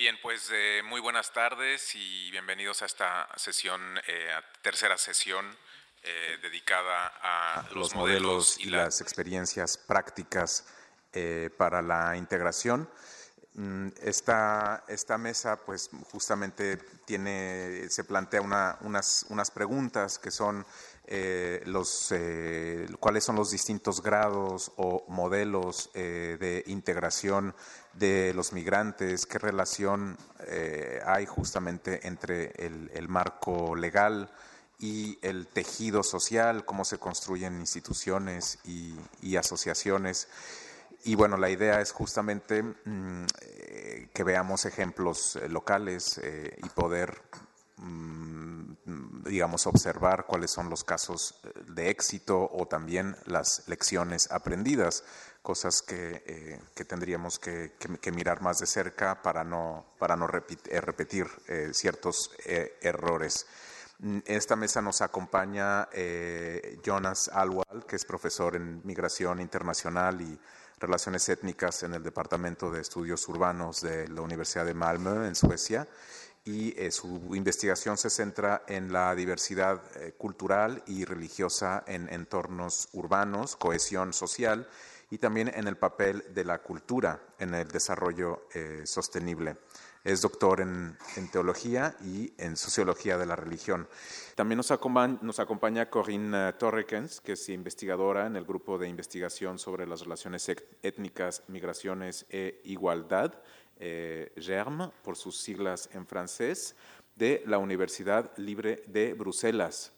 Bien, pues muy buenas tardes y bienvenidos a esta sesión, tercera sesión dedicada a los modelos y las experiencias prácticas para la integración. Esta mesa, pues justamente se plantea unas preguntas que son cuáles son los distintos grados o modelos de integración de los migrantes, qué relación hay justamente entre el marco legal y el tejido social, cómo se construyen instituciones y asociaciones. Y bueno, la idea es justamente que veamos ejemplos locales y poder, digamos, observar cuáles son los casos de éxito o también las lecciones aprendidas, cosas que tendríamos que mirar más de cerca para no repetir ciertos errores. Esta mesa nos acompaña Jonas Alwal, que es profesor en Migración Internacional y Relaciones Étnicas en el Departamento de Estudios Urbanos de la Universidad de Malmö, en Suecia, y su investigación se centra en la diversidad cultural y religiosa en entornos urbanos, cohesión social y también en el papel de la cultura en el desarrollo sostenible. Es doctor en teología y en sociología de la religión. También nos acompaña Corinne Torrekens, que es investigadora en el grupo de investigación sobre las relaciones étnicas, migraciones e igualdad, GERM, por sus siglas en francés, de la Universidad Libre de Bruselas.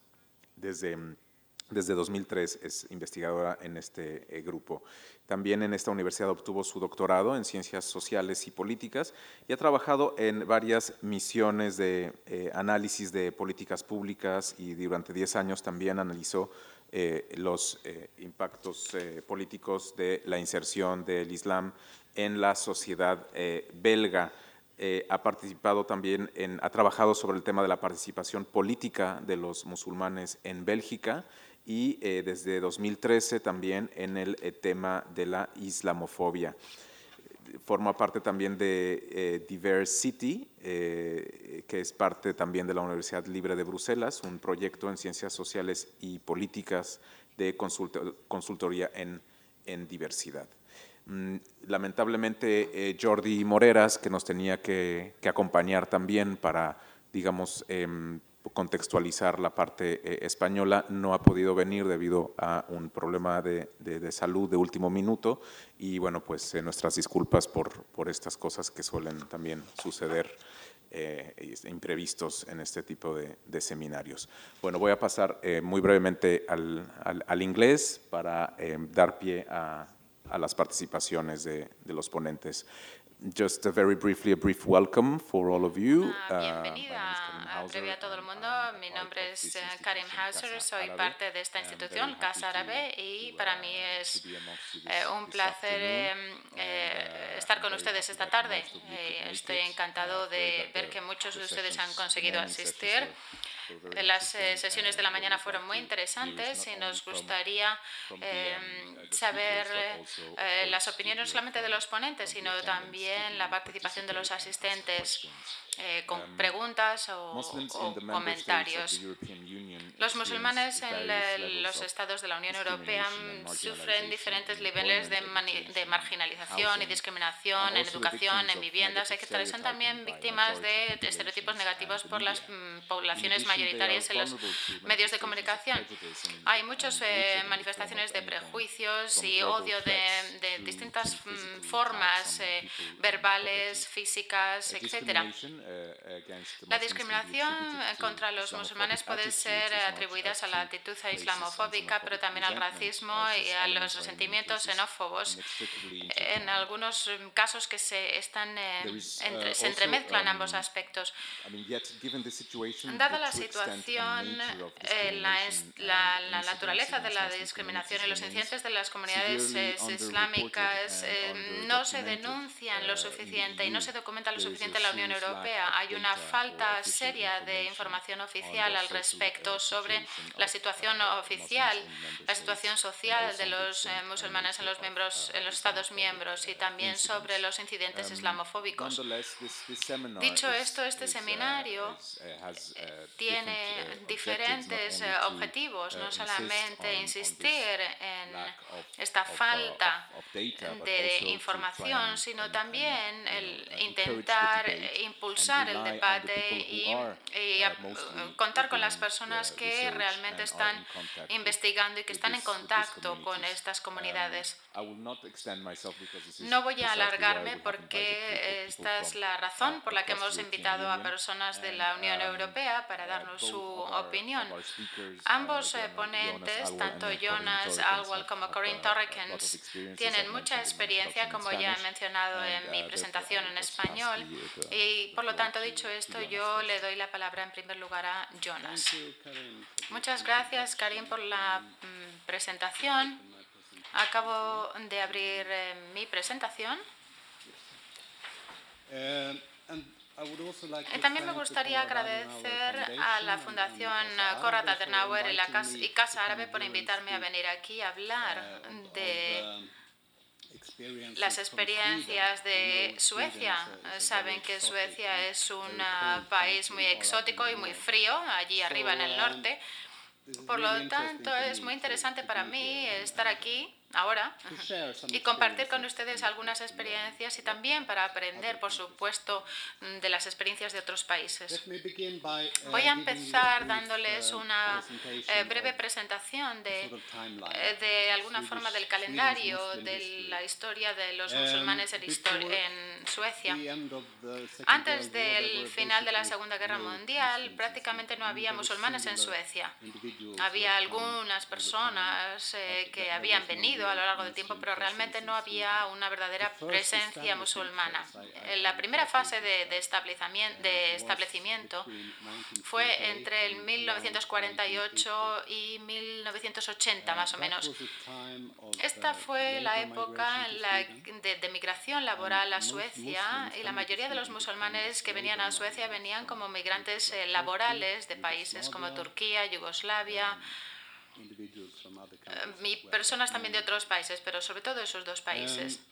Desde 2003 es investigadora en este grupo. También en esta universidad obtuvo su doctorado en Ciencias Sociales y Políticas y ha trabajado en varias misiones de análisis de políticas públicas y durante 10 años también analizó los impactos políticos de la inserción del Islam en la sociedad belga. Ha participado también ha trabajado sobre el tema de la participación política de los musulmanes en Bélgica y desde 2013 también en el tema de la islamofobia. Forma parte también de Diversity, que es parte también de la Universidad Libre de Bruselas, un proyecto en ciencias sociales y políticas de consultoría en diversidad. Lamentablemente Jordi Moreras, que nos tenía que acompañar también para, digamos, contextualizar la parte española, no ha podido venir debido a un problema de salud de último minuto y bueno, pues nuestras disculpas por estas cosas que suelen también suceder imprevistos en este tipo de seminarios. Bueno, voy a pasar muy brevemente al inglés para dar pie a las participaciones de los ponentes. Just very briefly, a brief welcome for all of you. Bienvenida breve a todo el mundo. Mi nombre es Karim Hauser, soy parte de esta institución, Casa Árabe, y para mí es un placer estar con ustedes esta tarde. Estoy encantado de ver que muchos de ustedes han conseguido asistir. Las sesiones de la mañana fueron muy interesantes y nos gustaría saber las opiniones no solamente de los ponentes, sino también la participación de los asistentes con preguntas o comentarios. Los musulmanes en los estados de la Unión Europea sufren diferentes niveles de marginalización y discriminación en educación, en viviendas, etc. Son también víctimas de estereotipos negativos por las poblaciones mayoritarias en los medios de comunicación. Hay muchas manifestaciones de prejuicios y odio de distintas formas, verbales, físicas, etc. La discriminación contra los musulmanes puede ser atribuida a la actitud islamofóbica, pero también al racismo y a los resentimientos xenófobos. En algunos casos que se entremezclan ambos aspectos. Dada la situación, la naturaleza de la discriminación y los incidentes de las comunidades islámicas no se denuncian lo suficiente y no se documenta lo suficiente en la Unión Europea. Hay una falta seria de información oficial al respecto sobre sobre la situación oficial, la situación social de los musulmanes en los Estados miembros y también sobre los incidentes islamofóbicos. Dicho esto, este seminario tiene diferentes objetivos, no solamente insistir en esta falta de información, sino también el intentar impulsar el debate y contar con las personas que realmente están investigando y que están en contacto con estas comunidades. No voy a alargarme porque esta es la razón por la que hemos invitado a personas de la Unión Europea para darnos su opinión. Ambos ponentes, tanto Jonas Alwell como Corinne Torrekens, tienen mucha experiencia, como ya he mencionado en mi presentación en español, y por lo tanto, dicho esto, yo le doy la palabra en primer lugar a Jonas. Muchas gracias, Karim, por la presentación. Acabo de abrir mi presentación. También me gustaría agradecer a la Fundación Konrad Adenauer y Casa Árabe por invitarme a venir aquí a hablar de las experiencias de Suecia. Saben que Suecia es un país muy exótico y muy frío, allí arriba en el norte. Por lo tanto, es muy interesante para mí estar aquí ahora y compartir con ustedes algunas experiencias y también para aprender, por supuesto, de las experiencias de otros países. Voy a empezar dándoles una breve presentación de alguna forma del calendario de la historia de los musulmanes en Suecia. Antes del final de la Segunda Guerra Mundial, prácticamente no había musulmanes en Suecia. Había algunas personas que habían venido a lo largo del tiempo, pero realmente no había una verdadera presencia musulmana. La primera fase de establecimiento fue entre el 1948 y 1980, más o menos. Esta fue la época de migración laboral a Suecia, y la mayoría de los musulmanes que venían a Suecia venían como migrantes laborales de países como Turquía, Yugoslavia, y personas también de otros países, pero sobre todo esos dos países.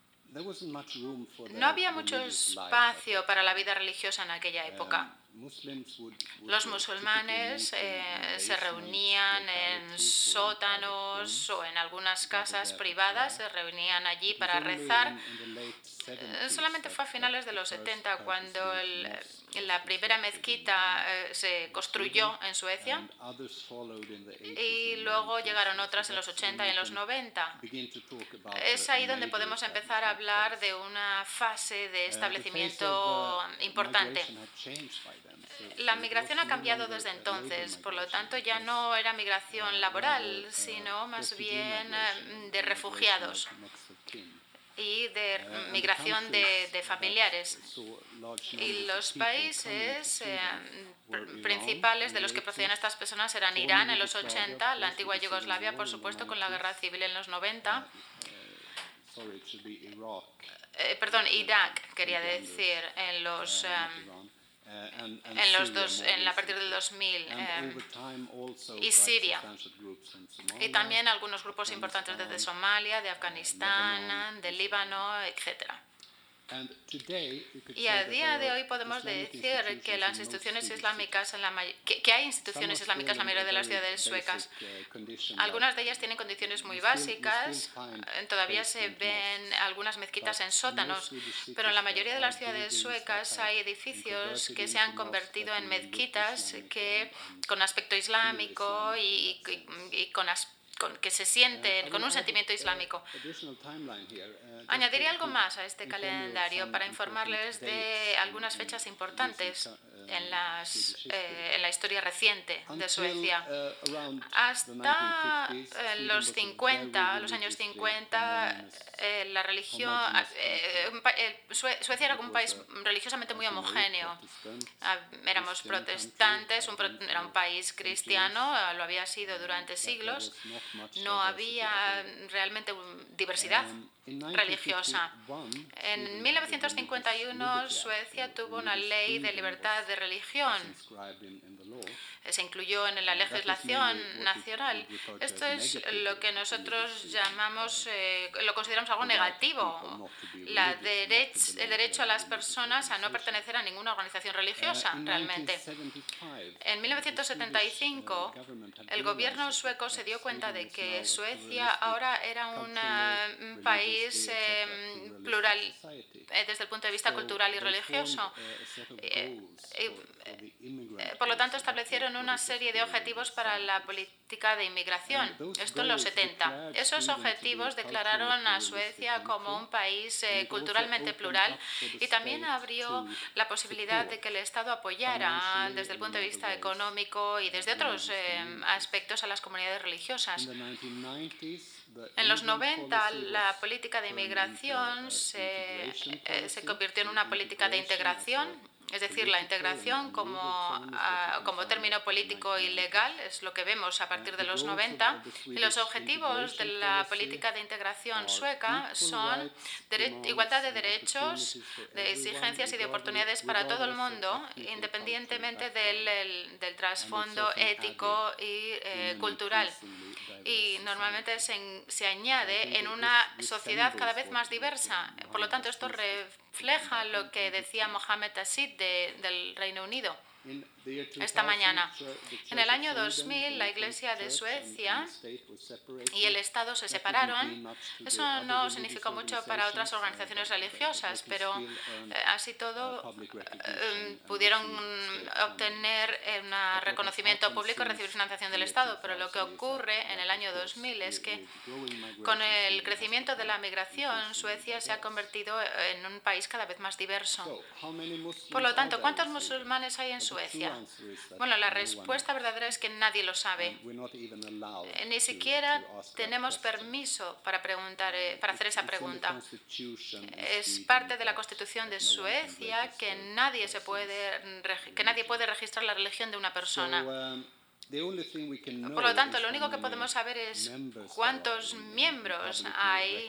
No había mucho espacio para la vida religiosa en aquella época. Los musulmanes se reunían en sótanos o en algunas casas privadas, se reunían allí para rezar. Solamente fue a finales de los 70 cuando la primera mezquita se construyó en Suecia, y luego llegaron otras en los 80 y en los 90. Es ahí donde podemos empezar a hablar de una fase de establecimiento importante. La migración ha cambiado desde entonces, por lo tanto ya no era migración laboral, sino más bien de refugiados y de migración de familiares. Y los países principales de los que procedían estas personas eran Irán en los 80, la antigua Yugoslavia, por supuesto, con la guerra civil en los 90. Irak, quería decir, a partir del 2000, y Siria, y también algunos grupos importantes desde Somalia, de Afganistán, del Líbano, etcétera. Y a día de hoy podemos decir que las instituciones islámicas, que hay instituciones islámicas en la mayoría de las ciudades suecas. Algunas de ellas tienen condiciones muy básicas, todavía se ven algunas mezquitas en sótanos, pero en la mayoría de las ciudades suecas hay edificios que se han convertido en mezquitas con aspecto islámico y que se sienten con un sentimiento islámico. Añadiré algo más a este calendario para informarles de algunas fechas importantes en la historia reciente de Suecia. Hasta los años 50, la religión, Suecia era un país religiosamente muy homogéneo. Éramos protestantes, era un país cristiano, lo había sido durante siglos. No había realmente diversidad religiosa. En 1951 Suecia tuvo una ley de libertad de religión se incluyó en la legislación nacional. Esto es lo que nosotros llamamos, lo consideramos algo negativo, el derecho a las personas a no pertenecer a ninguna organización religiosa, realmente. En 1975, el gobierno sueco se dio cuenta de que Suecia ahora era un país plural desde el punto de vista cultural y religioso. Por lo tanto, establecieron una serie de objetivos para la política de inmigración. Esto en los 70. Esos objetivos declararon a Suecia como un país culturalmente plural y también abrió la posibilidad de que el Estado apoyara desde el punto de vista económico y desde otros aspectos a las comunidades religiosas. En los 90, la política de inmigración se convirtió en una política de integración. Es decir, la integración como término político y legal es lo que vemos a partir de los 90. Y los objetivos de la política de integración sueca son igualdad de derechos, de exigencias y de oportunidades para todo el mundo, independientemente del trasfondo ético y cultural. Y normalmente se añade en una sociedad cada vez más diversa. Por lo tanto, esto refleja lo que decía Mohamed Asid del Reino Unido esta mañana. En el año 2000, la Iglesia de Suecia y el Estado se separaron. Eso no significó mucho para otras organizaciones religiosas, pero así todo pudieron obtener un reconocimiento público y recibir financiación del Estado. Pero lo que ocurre en el año 2000 es que con el crecimiento de la migración, Suecia se ha convertido en un país cada vez más diverso. Por lo tanto, ¿cuántos musulmanes hay en Suecia? Bueno, la respuesta verdadera es que nadie lo sabe. Ni siquiera tenemos permiso para hacer esa pregunta. Es parte de la Constitución de Suecia que nadie puede registrar la religión de una persona. Por lo tanto, lo único que podemos saber es cuántos miembros hay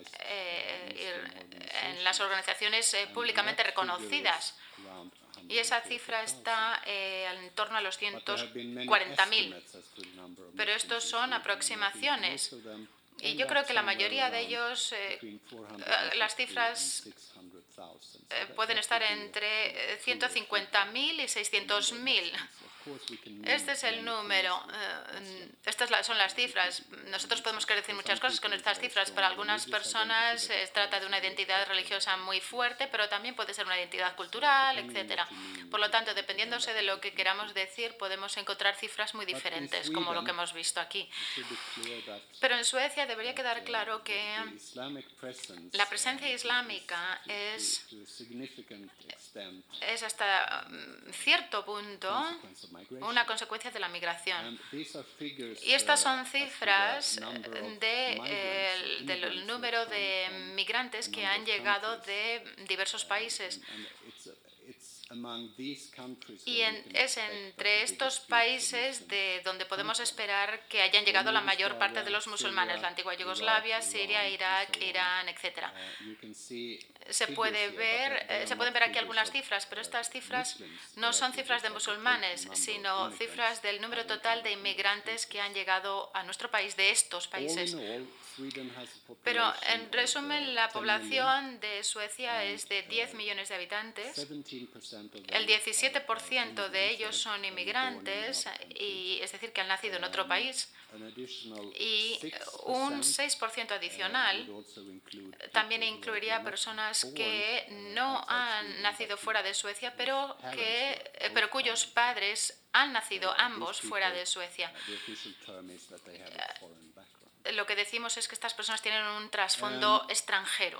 en las organizaciones públicamente reconocidas. Y esa cifra está en torno a los 140.000. Pero estos son aproximaciones. Y yo creo que la mayoría de ellos, las cifras pueden estar entre 150.000 y 600.000. Este es el número. Estas son las cifras. Nosotros podemos querer decir muchas cosas con estas cifras. Para algunas personas se trata de una identidad religiosa muy fuerte, pero también puede ser una identidad cultural, etc. Por lo tanto, dependiéndose de lo que queramos decir, podemos encontrar cifras muy diferentes, como lo que hemos visto aquí. Pero en Suecia debería quedar claro que la presencia islámica es hasta cierto punto una consecuencia de la migración. Y estas son cifras del número de migrantes que han llegado de diversos países. Y es entre estos países de donde podemos esperar que hayan llegado la mayor parte de los musulmanes, la antigua Yugoslavia, Siria, Irak, Irán, etc. Se pueden ver aquí algunas cifras, pero estas cifras no son cifras de musulmanes, sino cifras del número total de inmigrantes que han llegado a nuestro país de estos países. Pero, en resumen, la población de Suecia es de 10 millones de habitantes. El 17% de ellos son inmigrantes, es decir, que han nacido en otro país. Y un 6% adicional también incluiría personas que no han nacido fuera de Suecia, pero cuyos padres han nacido ambos fuera de Suecia. Lo que decimos es que estas personas tienen un trasfondo extranjero.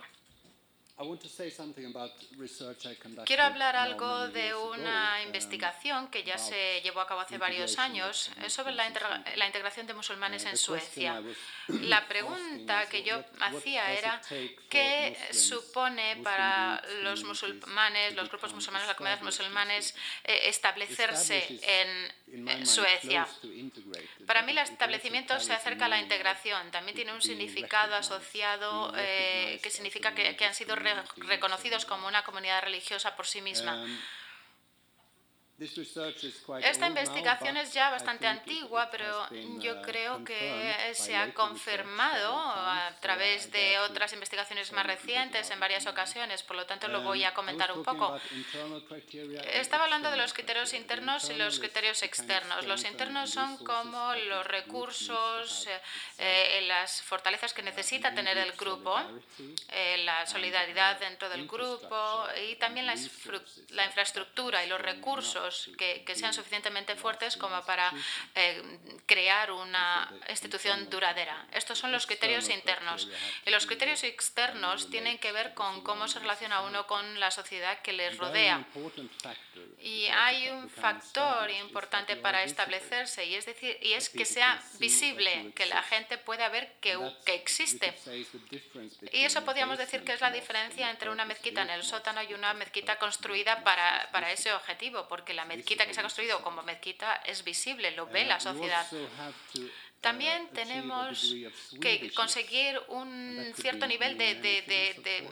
Quiero hablar algo de una investigación que ya se llevó a cabo hace varios años sobre la integración de musulmanes en Suecia. La pregunta que yo hacía era ¿qué supone para los musulmanes, los grupos musulmanes, las comunidades musulmanes establecerse en Suecia? Para mí el establecimiento se acerca a la integración. También tiene un significado asociado que significa que han sido reconocidos como una comunidad religiosa por sí misma. Esta investigación es ya bastante antigua, pero yo creo que se ha confirmado a través de otras investigaciones más recientes en varias ocasiones, por lo tanto lo voy a comentar un poco. Estaba hablando de los criterios internos y los criterios externos. Los internos son como los recursos, las fortalezas que necesita tener el grupo, la solidaridad dentro del grupo y también la infraestructura y los recursos que sean suficientemente fuertes como para crear una institución duradera. Estos son los criterios internos. Y los criterios externos tienen que ver con cómo se relaciona uno con la sociedad que les rodea. Y hay un factor importante para establecerse y es que sea visible, que la gente pueda ver que existe. Y eso podríamos decir que es la diferencia entre una mezquita en el sótano y una mezquita construida para ese objetivo, porque la mezquita que se ha construido como mezquita es visible, lo ve la sociedad. También tenemos que conseguir un cierto nivel de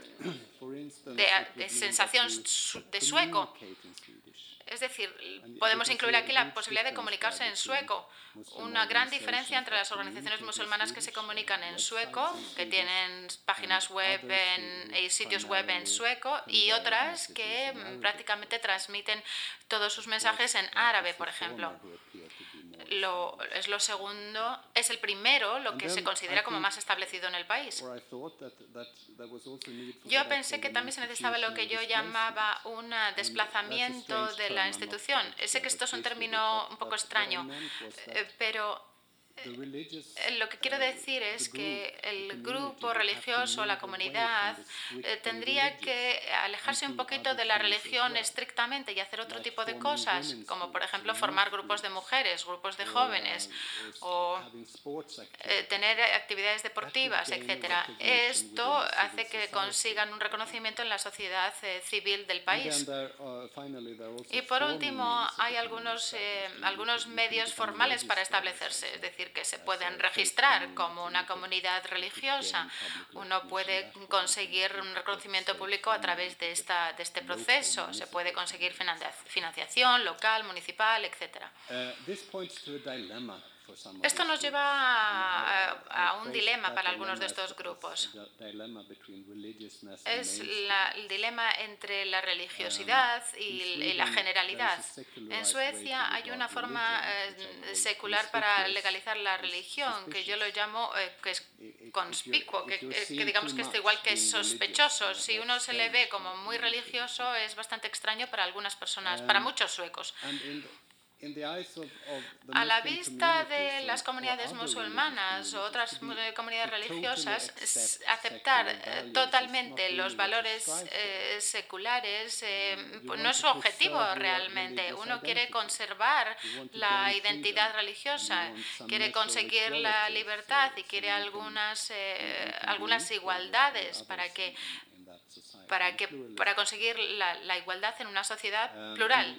sensación de sueco. Es decir, podemos incluir aquí la posibilidad de comunicarse en sueco. Una gran diferencia entre las organizaciones musulmanas que se comunican en sueco, que tienen páginas web y sitios web en sueco, y otras que prácticamente transmiten todos sus mensajes en árabe, por ejemplo. Es el primero, lo que se considera como más establecido en el país. Yo pensé que también se necesitaba lo que yo llamaba un desplazamiento de la institución. Sé que esto es un término un poco extraño, pero lo que quiero decir es que el grupo religioso, la comunidad, tendría que alejarse un poquito de la religión estrictamente y hacer otro tipo de cosas, como por ejemplo formar grupos de mujeres, grupos de jóvenes o tener actividades deportivas, etc. Esto hace que consigan un reconocimiento en la sociedad civil del país. Y por último, hay algunos medios formales para establecerse, es decir, que se pueden registrar como una comunidad religiosa. Uno puede conseguir un reconocimiento público a través de este proceso. Se puede conseguir financiación local, municipal, etc. Esto nos lleva a un dilema para algunos de estos grupos. Es el dilema entre la religiosidad y la generalidad. En Suecia hay una forma secular para legalizar la religión, que yo lo llamo que es conspicuo, que digamos que es igual que sospechoso. Si uno se le ve como muy religioso, es bastante extraño para algunas personas, para muchos suecos. A la vista de las comunidades musulmanas o otras comunidades religiosas, aceptar totalmente los valores seculares no es su objetivo realmente. Uno quiere conservar la identidad religiosa, quiere conseguir la libertad y quiere algunas igualdades para conseguir la igualdad en una sociedad plural.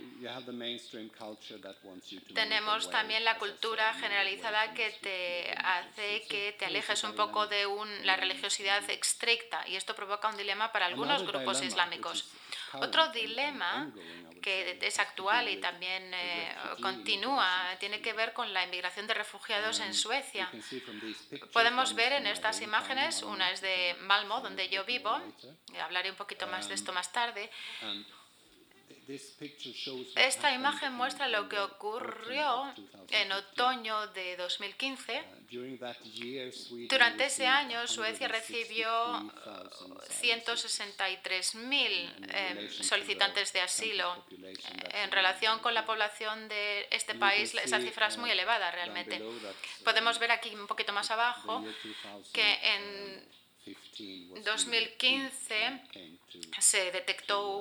Tenemos también la cultura generalizada que te hace que te alejes un poco de la religiosidad estricta, y esto provoca un dilema para algunos grupos islámicos. Otro dilema que es actual y también continúa tiene que ver con la inmigración de refugiados en Suecia. Podemos ver en estas imágenes, una es de Malmö, donde yo vivo, y hablaré un poquito más de esto más tarde. Esta imagen muestra lo que ocurrió en otoño de 2015. Durante ese año, Suecia recibió 163.000 solicitantes de asilo. En relación con la población de este país, esa cifra es muy elevada realmente. Podemos ver aquí un poquito más abajo que en 2015 se detectó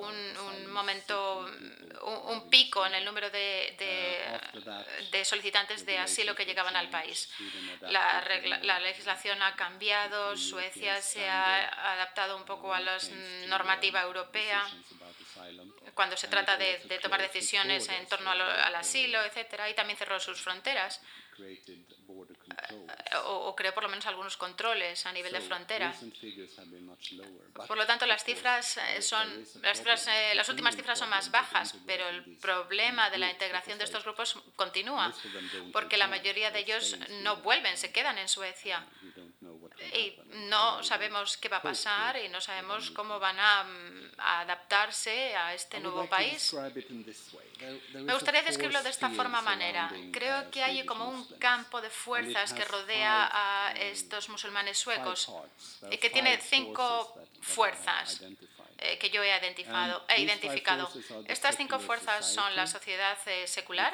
un pico en el número de solicitantes de asilo que llegaban al país. La legislación ha cambiado, Suecia se ha adaptado un poco a la normativa europea cuando se trata de tomar decisiones en torno al asilo, etc., y también cerró sus fronteras. o creó por lo menos algunos controles a nivel de frontera. Por lo tanto, las últimas cifras son más bajas, pero el problema de la integración de estos grupos continúa, porque la mayoría de ellos no vuelven, se quedan en Suecia. Y no sabemos qué va a pasar y no sabemos cómo van a adaptarse a este nuevo país. Me gustaría describirlo de esta manera. Creo que hay como un campo de fuerzas que rodea a estos musulmanes suecos y que tiene 5 fuerzas que yo he identificado. Estas 5 fuerzas son la sociedad secular,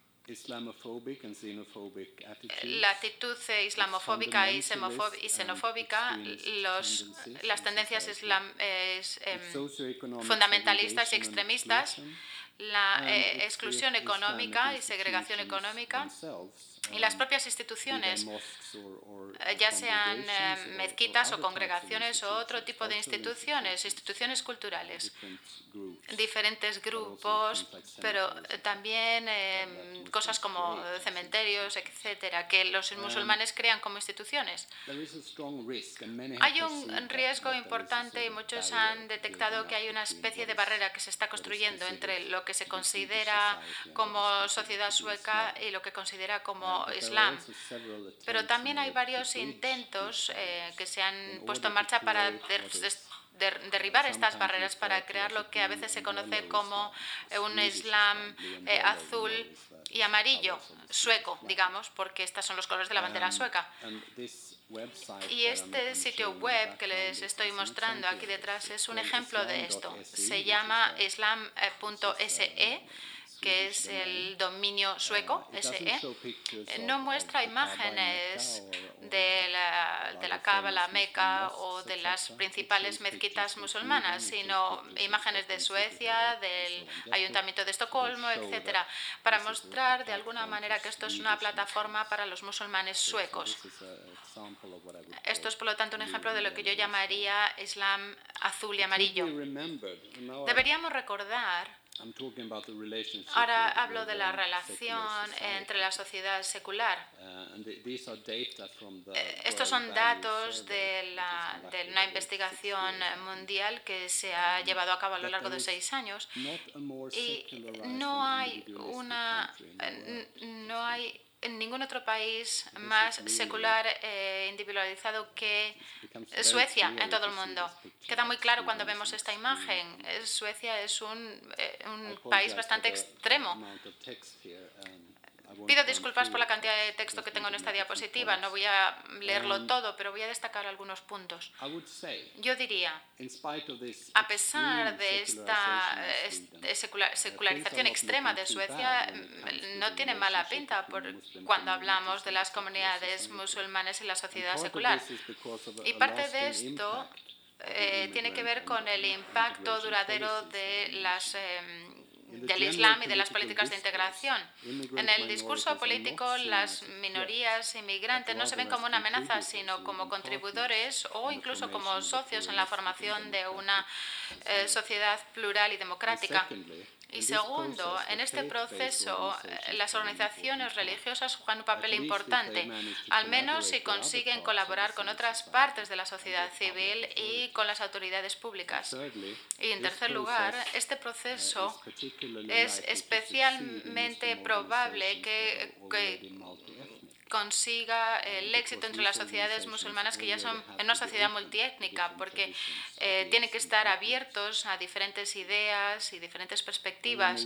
la actitud islamofóbica y xenofóbica, las tendencias fundamentalistas y extremistas, la exclusión económica y segregación económica, y las propias instituciones, ya sean mezquitas o congregaciones o otro tipo de instituciones culturales, diferentes grupos, pero también cosas como cementerios, etcétera, que los musulmanes crean como instituciones. Hay un riesgo importante y muchos han detectado que hay una especie de barrera que se está construyendo entre lo que se considera como sociedad sueca y lo que considera como Islam. Pero también hay varios intentos que se han puesto en marcha para derribar estas barreras, para crear lo que a veces se conoce como un Islam azul y amarillo, sueco, digamos, porque estos son los colores de la bandera sueca. Y este sitio web que les estoy mostrando aquí detrás es un ejemplo de esto. Se llama islam.se, que es el dominio sueco, SE. No muestra imágenes de la Kaaba, la Meca o de las principales mezquitas musulmanas, sino imágenes de Suecia, del Ayuntamiento de Estocolmo, etcétera, para mostrar de alguna manera que esto es una plataforma para los musulmanes suecos. Esto es, por lo tanto, un ejemplo de lo que yo llamaría Islam azul y amarillo. Deberíamos recordar. Ahora hablo de la relación entre la sociedad secular. Estos son datos de una investigación mundial que se ha llevado a cabo a lo largo de 6 años y no hay en ningún otro país más secular individualizado que Suecia en todo el mundo. Queda muy claro cuando vemos esta imagen. Suecia es un país bastante extremo. Pido disculpas por la cantidad de texto que tengo en esta diapositiva. No voy a leerlo todo, pero voy a destacar algunos puntos. Yo diría, a pesar de esta secularización extrema de Suecia, no tiene mala pinta cuando hablamos de las comunidades musulmanes y la sociedad secular. Y parte de esto tiene que ver con el impacto duradero del Islam y de las políticas de integración. En el discurso político, las minorías inmigrantes no se ven como una amenaza, sino como contribuidores o incluso como socios en la formación de una sociedad plural y democrática. Y segundo, en este proceso, las organizaciones religiosas juegan un papel importante, al menos si consiguen colaborar con otras partes de la sociedad civil y con las autoridades públicas. Y en tercer lugar, este proceso es especialmente probable que consiga el éxito entre las sociedades musulmanas que ya son en una sociedad multiétnica, porque tienen que estar abiertos a diferentes ideas y diferentes perspectivas.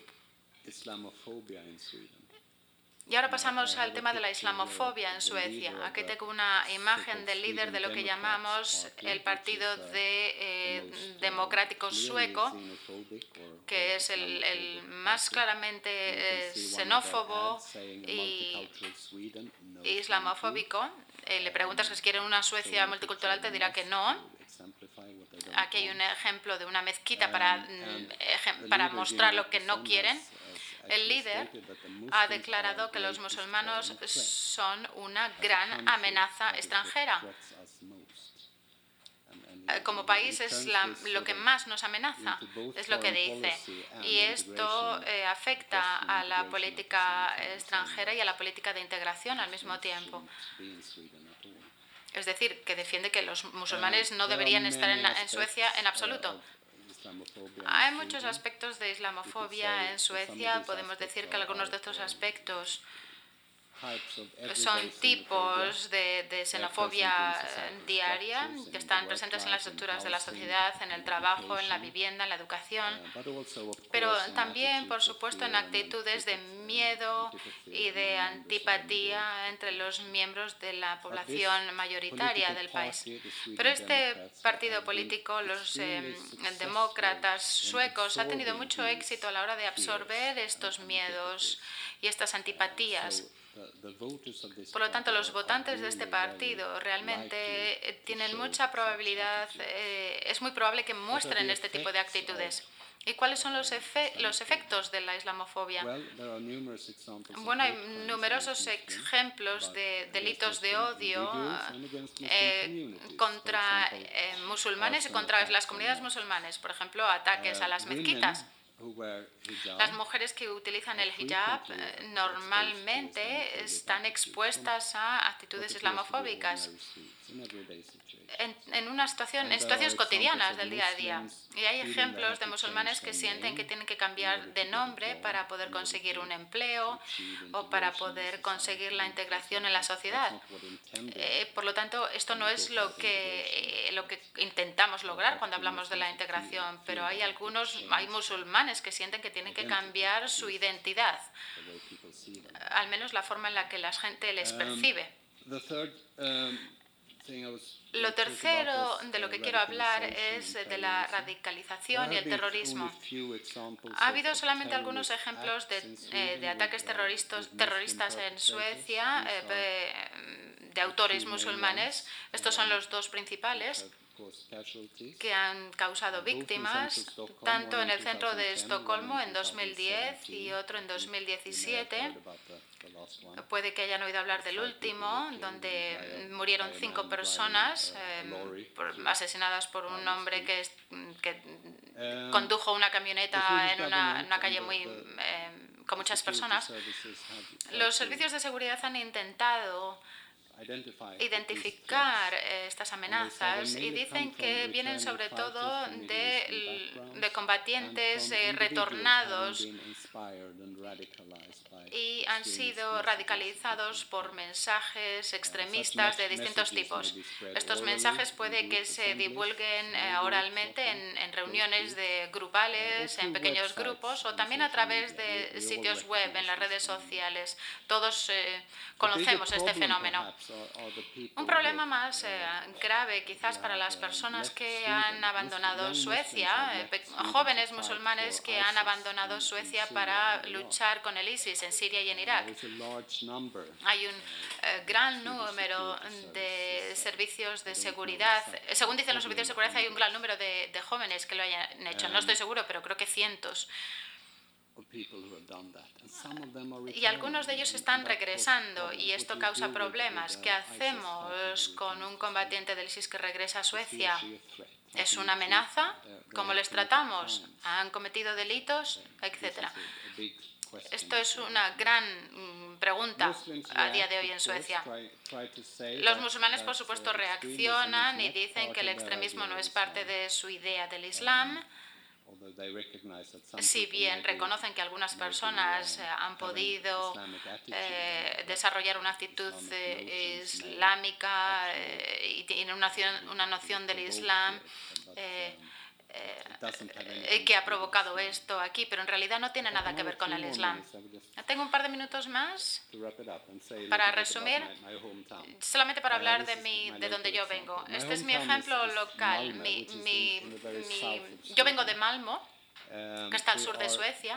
Y ahora pasamos al tema de la islamofobia en Suecia. Aquí tengo una imagen del líder de lo que llamamos el Partido Democrático Sueco, que es el más claramente xenófobo y islamofóbico. Le preguntas que si quieren una Suecia multicultural, te dirá que no. Aquí hay un ejemplo de una mezquita para mostrar lo que no quieren. El líder ha declarado que los musulmanes son una gran amenaza extranjera. como país es lo que más nos amenaza, es lo que dice. Y esto afecta a la política extranjera y a la política de integración al mismo tiempo. Es decir, que defiende que los musulmanes no deberían estar en Suecia en absoluto. Hay muchos aspectos de islamofobia en Suecia. Podemos decir que algunos de estos aspectos son tipos de xenofobia diaria que están presentes en las estructuras de la sociedad, en el trabajo, en la vivienda, en la educación, pero también, por supuesto, en actitudes de miedo y de antipatía entre los miembros de la población mayoritaria del país. Pero este partido político, los demócratas suecos, ha tenido mucho éxito a la hora de absorber estos miedos y estas antipatías. Por lo tanto, los votantes de este partido realmente tienen mucha probabilidad, es muy probable que muestren este tipo de actitudes. ¿Y cuáles son los efectos de la islamofobia? Bueno, hay numerosos ejemplos de delitos de odio contra musulmanes y contra las comunidades musulmanes. Por ejemplo, ataques a las mezquitas. Las mujeres que utilizan el hijab normalmente están expuestas a actitudes islamofóbicas en situaciones cotidianas del día a día. Y hay ejemplos de musulmanes que sienten que tienen que cambiar de nombre para poder conseguir un empleo o para poder conseguir la integración en la sociedad. Por lo tanto, esto no es lo que intentamos lograr cuando hablamos de la integración, pero hay musulmanes que sienten que tienen que cambiar su identidad, al menos la forma en la que la gente les percibe. Lo tercero de lo que quiero hablar es de la radicalización y el terrorismo. Ha habido solamente algunos ejemplos de ataques terroristas en Suecia de autores musulmanes. Estos son los dos principales que han causado víctimas, tanto en el centro de Estocolmo en 2010 y otro en 2017. Puede que hayan oído hablar del último, donde murieron 5 personas asesinadas por un hombre que condujo una camioneta en una calle con muchas personas. Los servicios de seguridad han intentado identificar estas amenazas y dicen que vienen sobre todo de combatientes retornados y han sido radicalizados por mensajes extremistas de distintos tipos. Estos mensajes puede que se divulguen oralmente en reuniones grupales, en pequeños grupos o también a través de sitios web, en las redes sociales. Todos conocemos este fenómeno. Un problema más grave quizás para las personas que han abandonado Suecia, jóvenes musulmanes que han abandonado Suecia para luchar con el ISIS en Siria y en Irak. Hay un gran número de servicios de seguridad. Según dicen los servicios de seguridad, hay un gran número de jóvenes que lo hayan hecho. No estoy seguro, pero creo que cientos. Y algunos de ellos están regresando y esto causa problemas. ¿Qué hacemos con un combatiente del ISIS que regresa a Suecia? ¿Es una amenaza? ¿Cómo les tratamos? ¿Han cometido delitos? Etcétera. Esto es una gran pregunta a día de hoy en Suecia. Los musulmanes, por supuesto, reaccionan y dicen que el extremismo no es parte de su idea del Islam. Si bien reconocen que algunas personas han podido desarrollar una actitud islámica y tienen una noción del Islam que ha provocado esto aquí, pero en realidad no tiene nada que ver con el Islam. Tengo un par de minutos más para resumir, solamente para hablar de donde yo vengo. Este es mi ejemplo local. Yo vengo de Malmo, que está al sur de Suecia.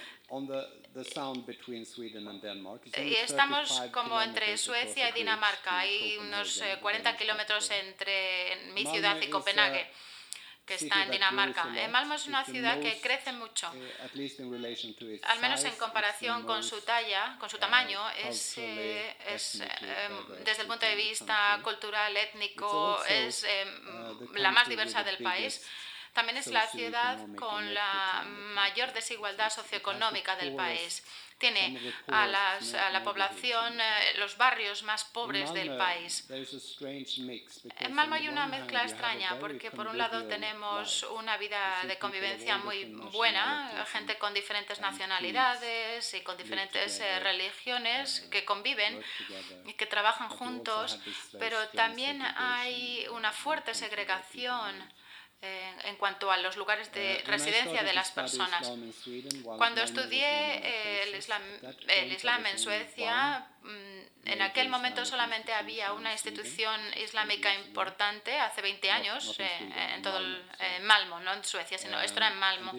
Y estamos como entre Suecia y Dinamarca. Hay unos 40 kilómetros entre mi ciudad y Copenhague, que está en Dinamarca. Malmö es una ciudad que crece mucho, al menos en comparación con su talla, con su tamaño, desde el punto de vista cultural, étnico, es la más diversa del país. También es la ciudad con la mayor desigualdad socioeconómica del país. Tiene a la población, los barrios más pobres del país. En Malmö hay una mezcla extraña porque por un lado tenemos una vida de convivencia muy buena, gente con diferentes nacionalidades y con diferentes religiones que conviven y que trabajan juntos, pero también hay una fuerte segregación en cuanto a los lugares de residencia de las personas. Cuando estudié el Islam en Suecia, en aquel momento solamente había una institución islámica importante, hace 20 años, en todo Malmö, no en Suecia, sino esto era en Malmö.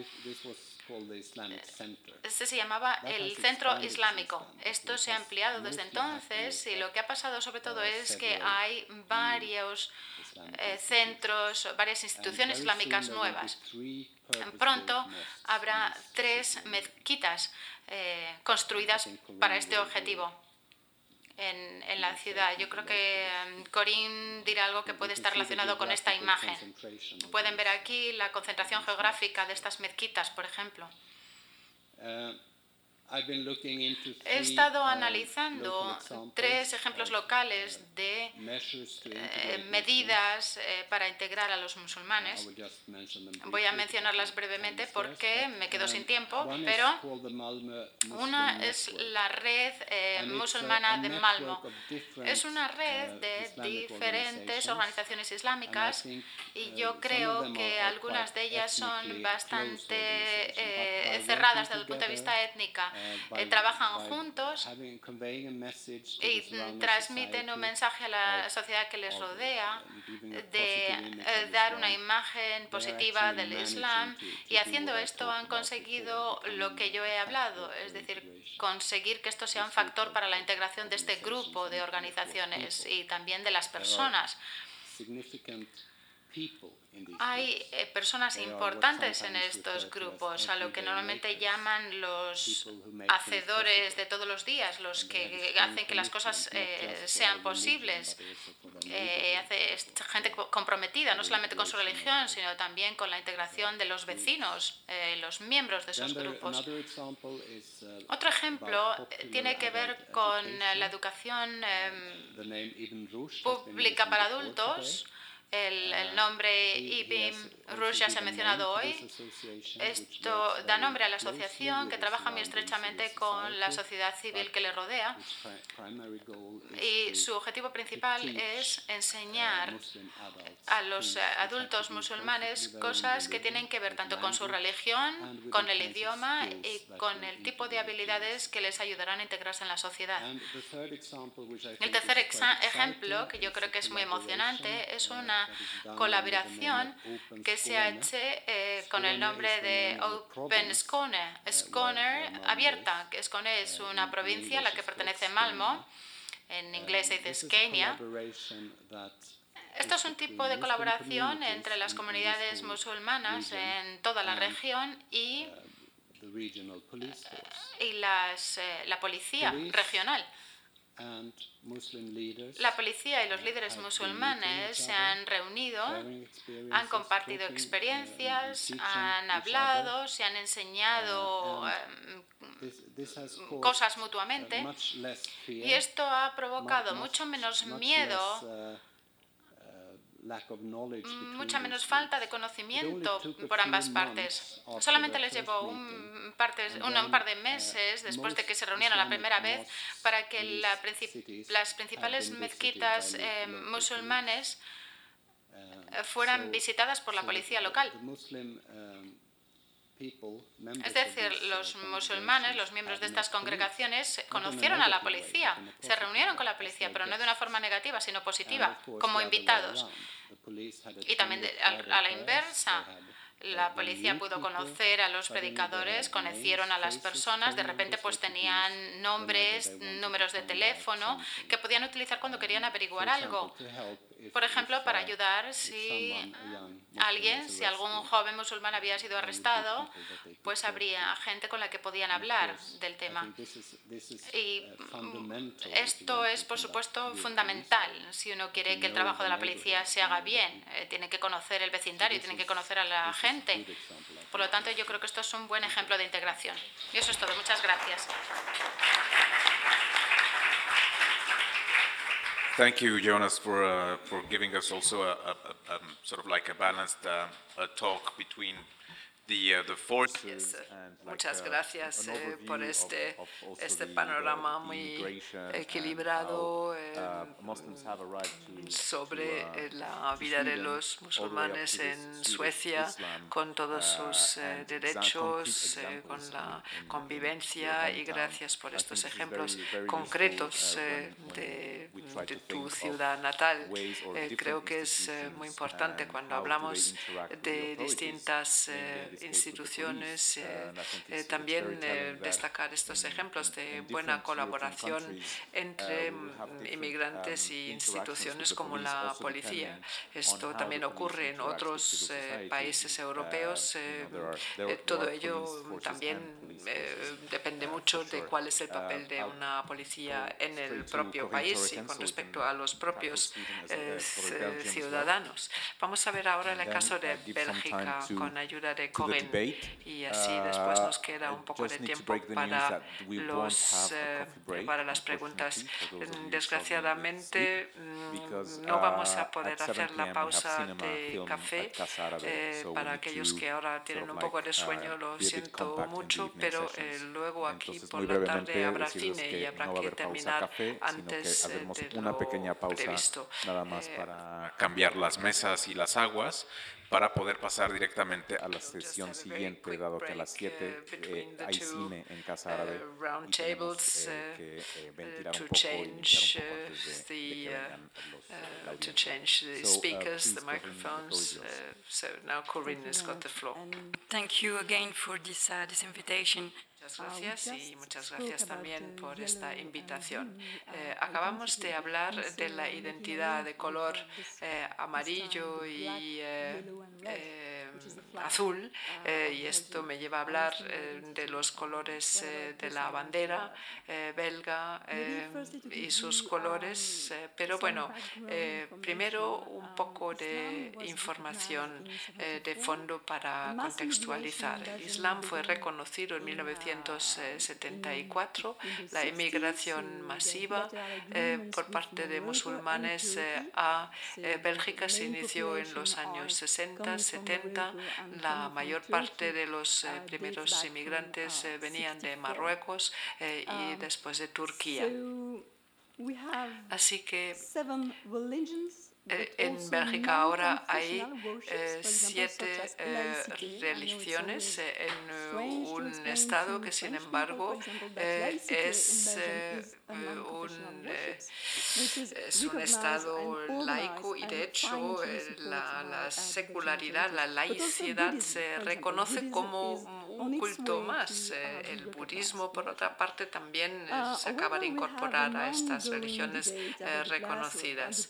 Este se llamaba el Centro Islámico. Esto se ha ampliado desde entonces y lo que ha pasado sobre todo es que hay varios centros, varias instituciones islámicas nuevas. Pronto habrá 3 mezquitas construidas para este objetivo en la ciudad. Yo creo que Corinne dirá algo que puede estar relacionado con esta imagen. Pueden ver aquí la concentración geográfica de estas mezquitas, por ejemplo. He estado analizando 3 ejemplos locales de medidas para integrar a los musulmanes. Voy a mencionarlas brevemente porque me quedo sin tiempo, pero una es la red musulmana de Malmö. Es una red de diferentes organizaciones islámicas y yo creo que algunas de ellas son bastante cerradas desde el punto de vista étnico. Trabajan juntos y transmiten un mensaje a la sociedad que les rodea de dar una imagen positiva del Islam, y haciendo esto han conseguido lo que yo he hablado, es decir, conseguir que esto sea un factor para la integración de este grupo de organizaciones y también de las personas. Hay personas importantes en estos grupos, a lo que normalmente llaman los hacedores de todos los días, los que hacen que las cosas sean posibles. Gente comprometida no solamente con su religión, sino también con la integración de los vecinos, los miembros de esos grupos. Otro ejemplo tiene que ver con la educación pública para adultos. El nombre Ibn Rushd ya se ha mencionado hoy. Esto da nombre a la asociación que trabaja muy estrechamente con la sociedad civil que le rodea, y su objetivo principal es enseñar a los adultos musulmanes cosas que tienen que ver tanto con su religión, con el idioma y con el tipo de habilidades que les ayudarán a integrarse en la sociedad. El tercer ejemplo, que yo creo que es muy emocionante, es una colaboración que se ha hecho con el nombre de Open Skåne, Skåne abierta. Skåne es una provincia a la que pertenece Malmö, en inglés se dice Scania. Esto es un tipo de colaboración entre las comunidades musulmanas en toda la región y la policía regional. La policía y los líderes musulmanes se han reunido, han compartido experiencias, han hablado, se han enseñado cosas mutuamente, y esto ha provocado mucho menos miedo, mucha menos falta de conocimiento por ambas partes. Solamente les llevó un par de meses después de que se reunieron la primera vez para que las principales mezquitas musulmanes fueran visitadas por la policía local. Es decir, los musulmanes, los miembros de estas congregaciones, conocieron a la policía, se reunieron con la policía, pero no de una forma negativa, sino positiva, como invitados. Y también a la inversa, la policía pudo conocer a los predicadores, conocieron a las personas, de repente pues tenían nombres, números de teléfono que podían utilizar cuando querían averiguar algo. por ejemplo, para ayudar si algún joven musulmán había sido arrestado, pues habría gente con la que podían hablar del tema. Y esto es, por supuesto, fundamental. Si uno quiere que el trabajo de la policía se haga bien, tiene que conocer el vecindario, tiene que conocer a la gente. Por lo tanto, yo creo que esto es un buen ejemplo de integración. Y eso es todo. Muchas gracias. Thank you, Jonas, for giving us also a sort of like a balanced talk between the forces. Muchas gracias por este panorama muy equilibrado sobre la vida de los musulmanes en Suecia, con todos sus derechos, con la convivencia, y gracias por estos ejemplos concretos de tu ciudad natal. Creo que es muy importante cuando hablamos de distintas instituciones, también destacar estos ejemplos de buena colaboración entre inmigrantes y instituciones como la policía. Esto también ocurre en otros países europeos. Todo ello también depende mucho de cuál es el papel de una policía en el propio país y con respecto a los propios ciudadanos. Vamos a ver ahora el caso de Bélgica con ayuda de Corinne, y así después nos queda un poco de tiempo para las preguntas. Desgraciadamente no vamos a poder hacer la pausa de café. Para aquellos que ahora tienen un poco de sueño, lo siento mucho, pero luego aquí por la tarde habrá cine y habrá que terminar antes de lo previsto. Nada más para cambiar las mesas y las aguas, para poder pasar directamente a la sesión siguiente, dado que a las 7 hay cine en Casa Árabe y tenemos que ventilar un poco y limpiar un poco antes de que vengan la to change the speakers, the microphones. So now Corinne has got the floor. Thank you again for this invitation. Muchas gracias y muchas gracias también por esta invitación. Acabamos de hablar de la identidad de color amarillo y azul, y esto me lleva a hablar de los colores de la bandera belga y sus colores, pero bueno, primero un poco de información de fondo para contextualizar. El Islam fue reconocido en 1974, la inmigración masiva por parte de musulmanes a Bélgica se inició en los años 60, 70. La mayor parte de los primeros inmigrantes venían de Marruecos y después de Turquía. Así que en Bélgica ahora hay 7 religiones en un estado que, sin embargo, es un estado laico, y de hecho la secularidad, la laicidad se reconoce como un culto más. El budismo, por otra parte, también se acaba de incorporar a estas religiones reconocidas.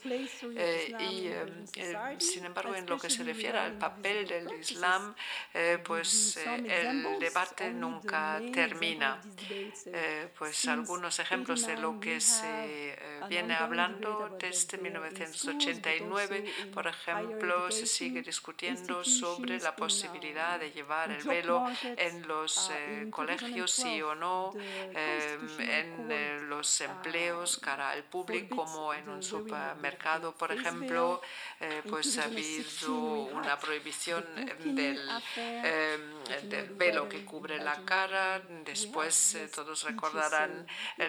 Sin embargo, en lo que se refiere al papel del Islam, pues el debate nunca termina. Pues algunos ejemplos de lo que se viene hablando desde 1989, por ejemplo, se sigue discutiendo sobre la posibilidad de llevar el velo en los colegios, sí o no, en los empleos cara al público, como en un supermercado, por ejemplo. Pues ha habido una prohibición del velo que cubre la cara. Después todos recordarán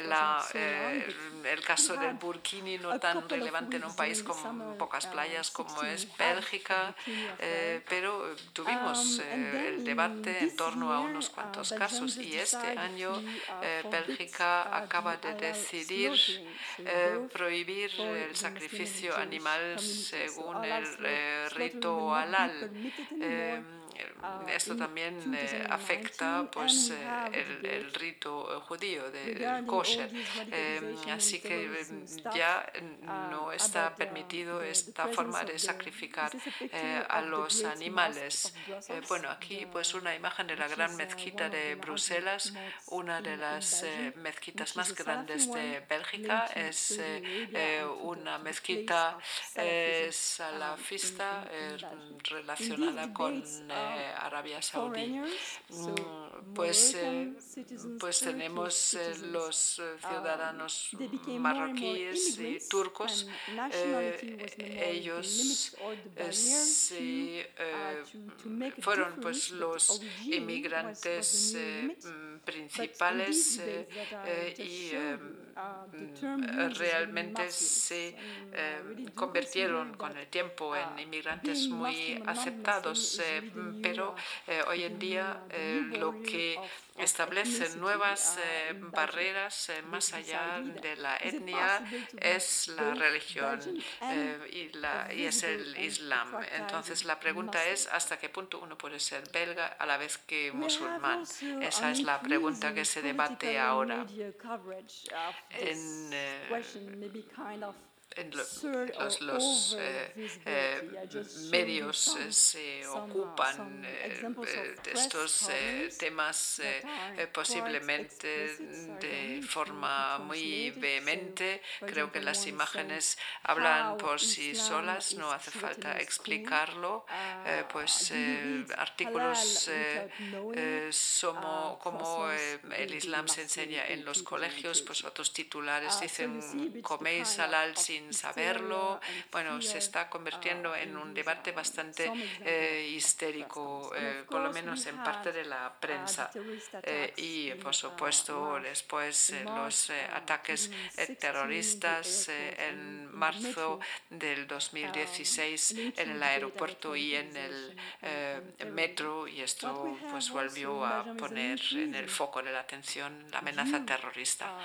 el caso del burkini, no tan relevante en un país con pocas playas como es Bélgica, pero tuvimos el debate en torno a unos cuantos casos, y este año Bélgica acaba de decidir prohibir el sacrificio animal según el rito halal. esto también afecta pues, el rito judío del kosher. Así que ya no está permitido esta forma de sacrificar a los animales. Bueno, aquí pues una imagen de la gran mezquita de Bruselas, una de las mezquitas más grandes de Bélgica. Es una mezquita salafista relacionada con Arabia Saudí. Pues tenemos los ciudadanos marroquíes y turcos. Ellos fueron pues los inmigrantes principales y realmente se convirtieron con el tiempo en inmigrantes muy aceptados, pero hoy en día lo que establece nuevas barreras más allá de la etnia es la religión y es el Islam. Entonces la pregunta es ¿hasta qué punto uno puede ser belga a la vez que musulmán? Esa es la pregunta que se debate ahora. Los medios se ocupan de estos temas posiblemente de forma muy vehemente. Creo que las imágenes hablan por sí solas, no hace falta explicarlo. Pues artículos como el Islam se enseña en los colegios, pues otros titulares dicen coméis halal sin saberlo. Bueno, se está convirtiendo en un debate bastante histérico, por lo menos en parte de la prensa. Y por supuesto después los ataques terroristas en marzo del 2016 en el aeropuerto y en el metro, y esto pues volvió a poner en el foco de la atención la amenaza terrorista.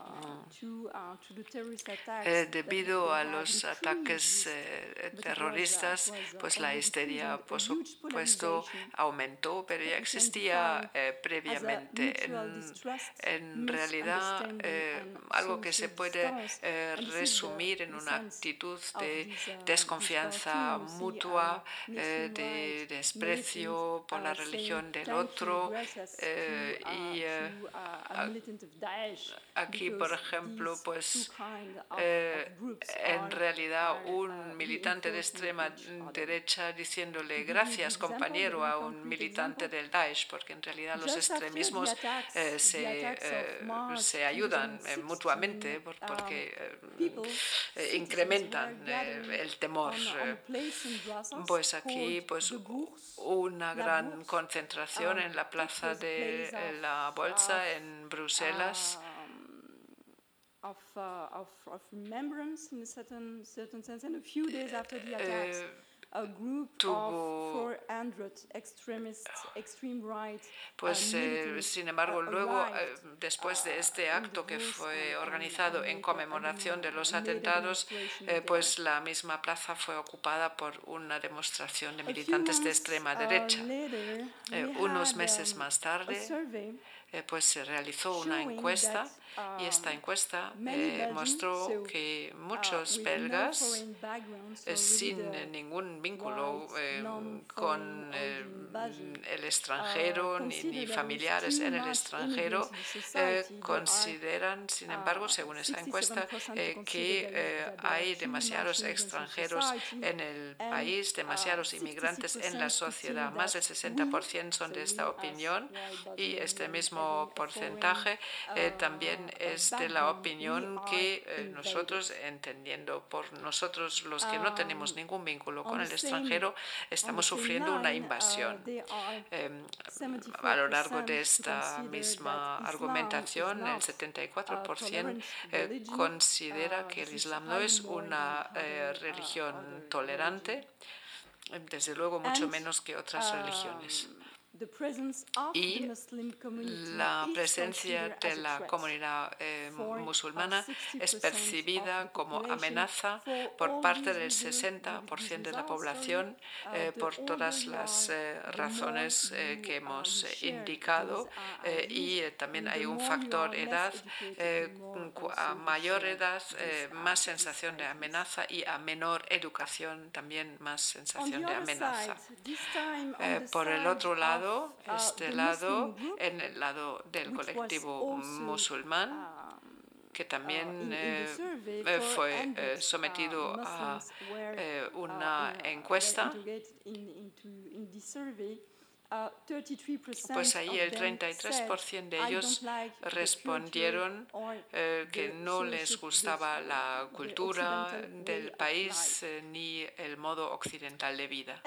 Debido a los ataques terroristas, pues la histeria, por supuesto, aumentó, pero ya existía previamente. En realidad, algo que se puede resumir en una actitud de desconfianza mutua, de desprecio por la religión del otro. Y aquí, por ejemplo, pues en realidad un militante de extrema derecha diciéndole gracias compañero a un militante del Daesh, porque en realidad los extremismos se ayudan mutuamente porque incrementan el temor. Pues aquí pues una gran concentración en la plaza de la Bolsa en Bruselas. Pues sin embargo luego después de este acto que fue organizado en conmemoración de los atentados, pues la misma plaza fue ocupada por una demostración de militantes de extrema derecha. Unos meses más tarde pues se realizó una encuesta y esta encuesta mostró que muchos belgas sin ningún vínculo con el extranjero ni familiares en el extranjero consideran, sin embargo, según esa encuesta, que hay demasiados extranjeros en el país, demasiados inmigrantes en la sociedad. Más del 60% son de esta opinión y este mismo porcentaje también es de la opinión que nosotros, entendiendo por nosotros los que no tenemos ningún vínculo con el extranjero, estamos sufriendo una invasión. A lo largo de esta misma argumentación, el 74% considera que el Islam no es una religión tolerante, desde luego mucho menos que otras religiones. y la presencia de la comunidad musulmana es percibida como amenaza por parte del 60% de la población por todas las razones que hemos indicado y también hay un factor edad. A mayor edad, más sensación de amenaza y a menor educación también más sensación de amenaza. Por el otro lado, en el lado del colectivo musulmán, que también fue sometido a una encuesta, pues ahí el 33% de ellos respondieron que no les gustaba la cultura del país ni el modo occidental de vida.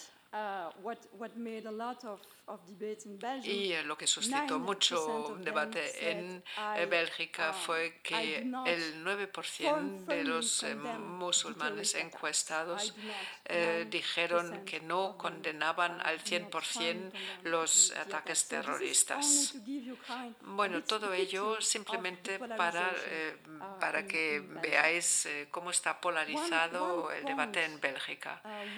Y lo que suscitó mucho debate en Bélgica fue que el 9% de los musulmanes encuestados dijeron que no condenaban al 100% los ataques terroristas. Bueno, todo ello simplemente para que veáis cómo está polarizado el debate en Bélgica.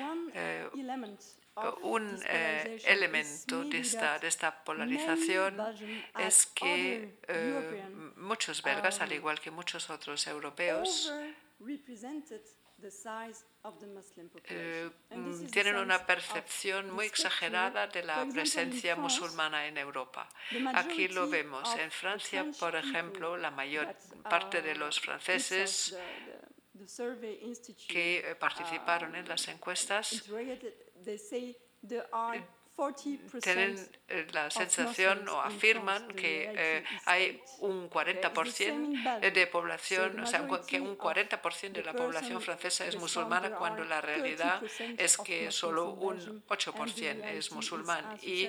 Un elemento de esta polarización es que muchos belgas, al igual que muchos otros europeos, tienen una percepción muy exagerada de la presencia musulmana en Europa. Aquí lo vemos. En Francia, por ejemplo, la mayor parte de los franceses que participaron en las encuestas tienen la sensación o afirman que hay un 40% de población, o sea, que un 40% de la población francesa es musulmana, cuando la realidad es que solo un 8% es musulmán. Y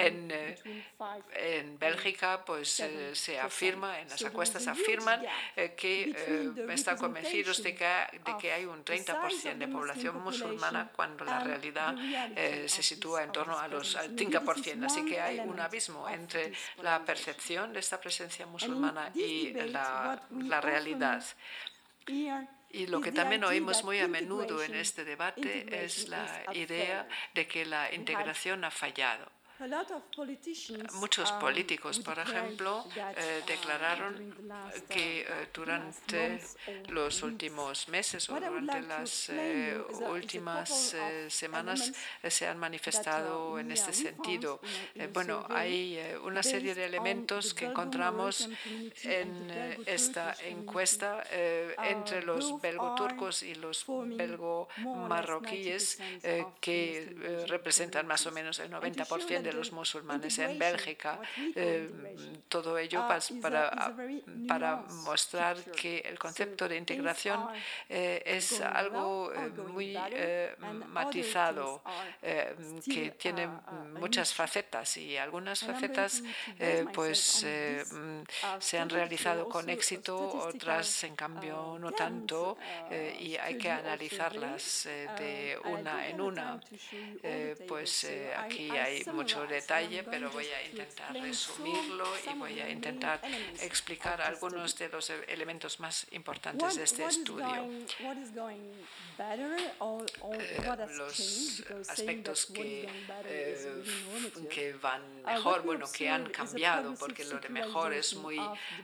en Bélgica, pues se afirma, en las encuestas afirman que están convencidos de que hay un 30% de población musulmana, cuando la realidad se sitúa en torno al 5%. Así que hay un abismo entre la percepción de esta presencia musulmana y la realidad. Y lo que también oímos muy a menudo en este debate es la idea de que la integración ha fallado. Muchos políticos, por ejemplo, declararon que durante los últimos meses o durante las últimas semanas se han manifestado en este sentido. Bueno, hay una serie de elementos que encontramos en esta encuesta entre los belgo-turcos y los belgo-marroquíes, que representan más o menos el 90% de los musulmanes en Bélgica. Todo ello para mostrar que el concepto de integración es algo muy matizado, que tiene muchas facetas, y algunas facetas pues se han realizado con éxito, otras en cambio no tanto, y hay que analizarlas de una en una. Pues aquí hay mucho detalle, pero voy a intentar resumirlo y voy a intentar explicar algunos de los elementos más importantes de este estudio. Los aspectos que van mejor, bueno, que han cambiado, porque lo de mejor es muy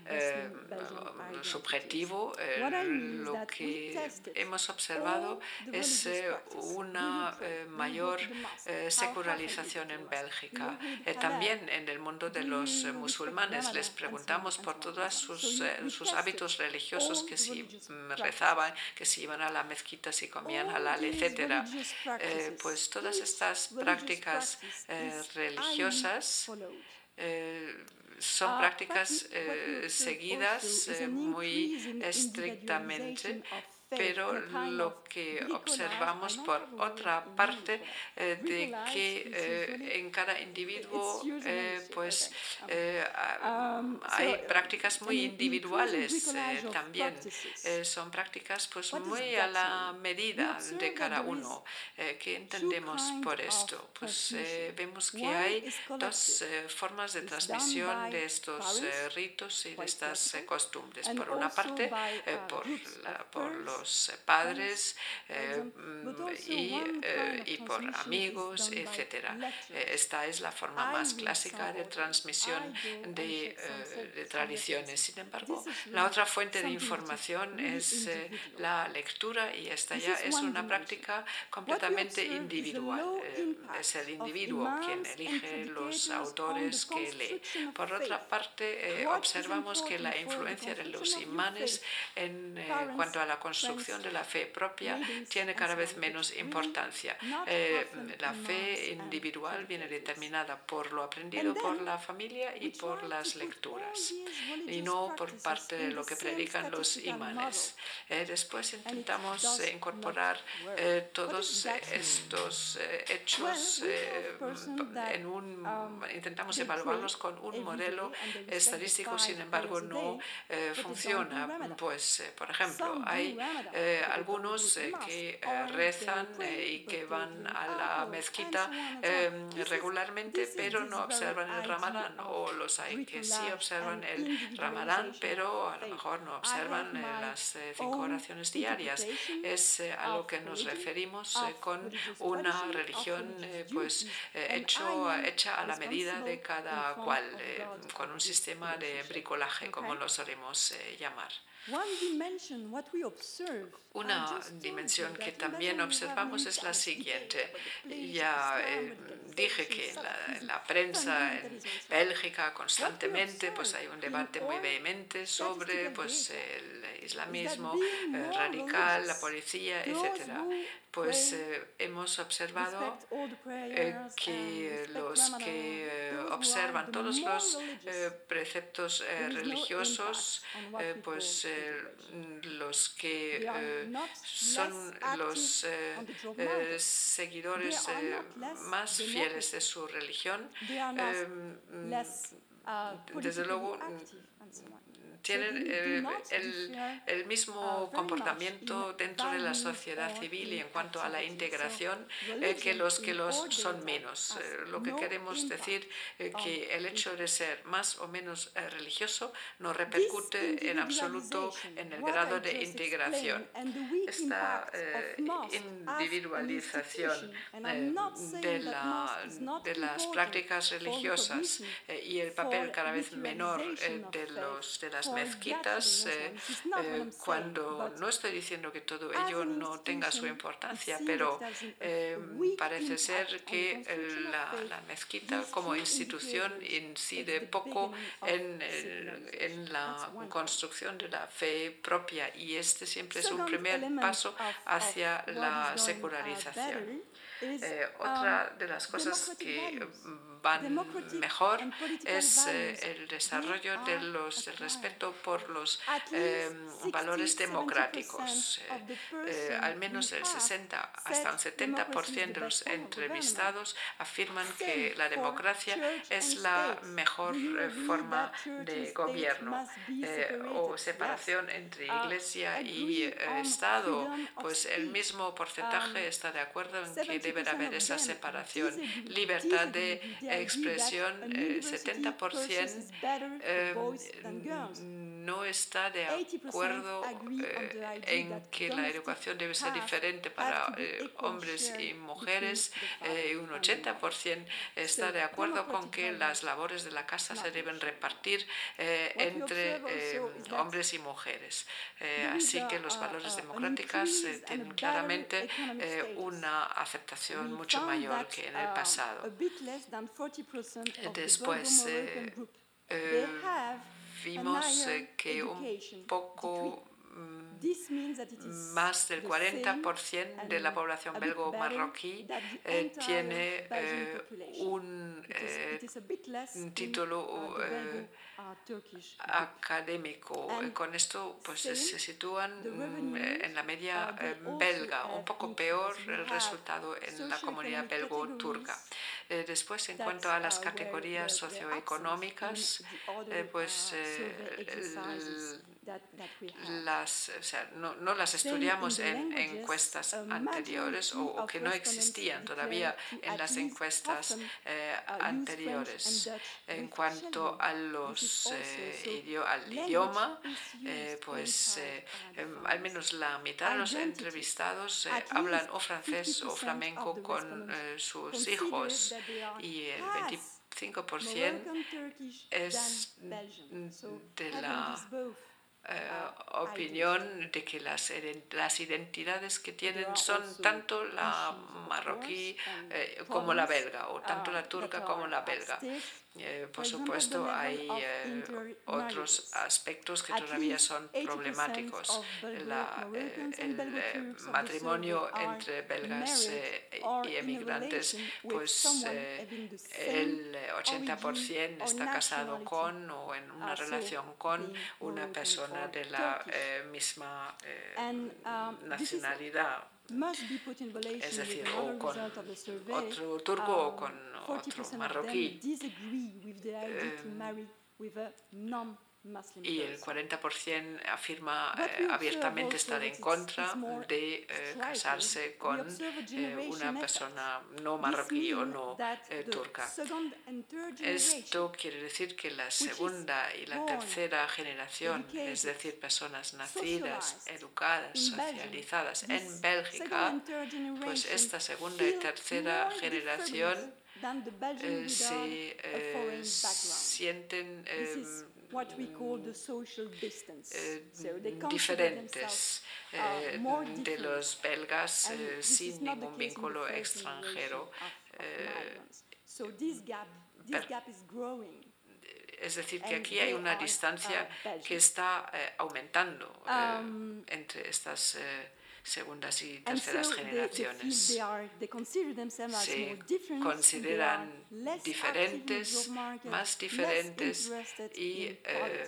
subjetivo. Lo que hemos observado es una mayor secularización en Bélgica. También en el mundo de los musulmanes les preguntamos por todos sus hábitos religiosos, que si rezaban, que si iban a la mezquita, si comían halal, etc. Pues todas estas prácticas religiosas son prácticas seguidas muy estrictamente, pero lo que observamos por otra parte de que en cada individuo pues hay prácticas muy individuales también. Son prácticas pues muy a la medida de cada uno. ¿Qué entendemos por esto? Pues vemos que hay dos formas de transmisión de estos ritos y de estas costumbres. Por una parte, por los padres y por amigos, etc. Esta es la forma más clásica de transmisión de tradiciones. Sin embargo, la otra fuente de información es la lectura, y esta ya es una práctica completamente individual. Es el individuo quien elige los autores que lee. Por otra parte, observamos que la influencia de los imanes en cuanto a la construcción de la fe propia tiene cada vez menos importancia. La fe individual viene determinada por lo aprendido por la familia y por las lecturas, y no por parte de lo que predican los imanes. Después intentamos incorporar todos estos hechos intentamos evaluarlos con un modelo estadístico. Sin embargo, no funciona. Pues, por ejemplo, hay algunos que rezan y que van a la mezquita regularmente, pero no observan el Ramadán, o los hay que sí observan el Ramadán, pero a lo mejor no observan las 5 oraciones diarias. Es a lo que nos referimos con una religión pues hecha a la medida de cada cual, con un sistema de bricolaje, como lo solemos llamar. Una dimensión que también observamos es la siguiente. Ya dije que en la prensa en Bélgica constantemente pues hay un debate muy vehemente sobre pues el islamismo radical, la policía, etc. Pues hemos observado que los que observan todos los preceptos religiosos, pues los que son los seguidores más fieles de su religión, desde luego tienen el mismo comportamiento dentro de la sociedad civil y en cuanto a la integración que los son menos. Lo que queremos decir que el hecho de ser más o menos religioso no repercute en absoluto en el grado de integración. Esta individualización de las prácticas religiosas y el papel cada vez menor de las mezquitas, cuando no estoy diciendo que todo ello no tenga su importancia, pero parece ser que la mezquita como institución incide poco en la construcción de la fe propia, y este siempre es un primer paso hacia la secularización. Otra de las cosas que van mejor es el desarrollo del respeto por los valores democráticos. Al menos el 60 hasta un 70% de los entrevistados afirman que la democracia es la mejor forma de gobierno, o separación entre Iglesia y Estado. Pues el mismo porcentaje está de acuerdo en que debe haber esa separación. Libertad de expresión, 70% no está de acuerdo en que la educación debe ser diferente para hombres y mujeres, y un 80% está de acuerdo con que las labores de la casa se deben repartir entre hombres y mujeres. Así que los valores democráticos tienen claramente una aceptación mucho mayor que en el pasado. Después vimos que un poco más del 40% de la población belgo-marroquí tiene un título académico. Con esto pues se sitúan en la media belga, un poco peor el resultado en la comunidad belgo-turca. Después, en cuanto a las categorías socioeconómicas, pues no las estudiamos en encuestas anteriores o que no existían todavía en las encuestas anteriores. En cuanto a al idioma, pues al menos la mitad de los entrevistados hablan o francés o flamenco con sus hijos y el 25% es de la opinión de que las identidades que tienen son tanto la marroquí como la belga, o tanto la turca como la belga. Por supuesto, hay otros aspectos que todavía son problemáticos. El matrimonio entre belgas y emigrantes, pues el 80% está casado con o en una relación con una persona de la misma nacionalidad, es decir, o con otro turco o con otro marroquí. Y el 40% afirma abiertamente estar en contra de casarse con una persona no marroquí o no turca. Esto quiere decir que la segunda y la tercera generación, es decir, personas nacidas, educadas, socializadas en Bélgica, pues esta segunda y tercera generación se sienten diferentes de los belgas sin ningún vínculo extranjero. Es decir, que aquí hay una distancia que está aumentando entre estas segundas y terceras generaciones. Se consideran diferentes, más diferentes y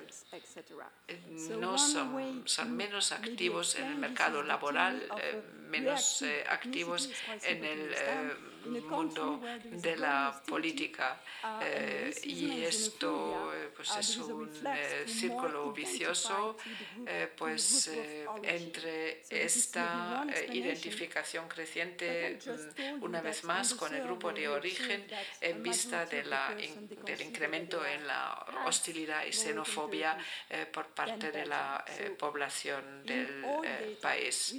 son menos activos en el mercado laboral, menos activos en el mundo de la política. Y esto pues es un círculo vicioso pues entre esta identificación creciente una vez más con el grupo de origen en vista del incremento en la hostilidad y xenofobia por parte de la población del país.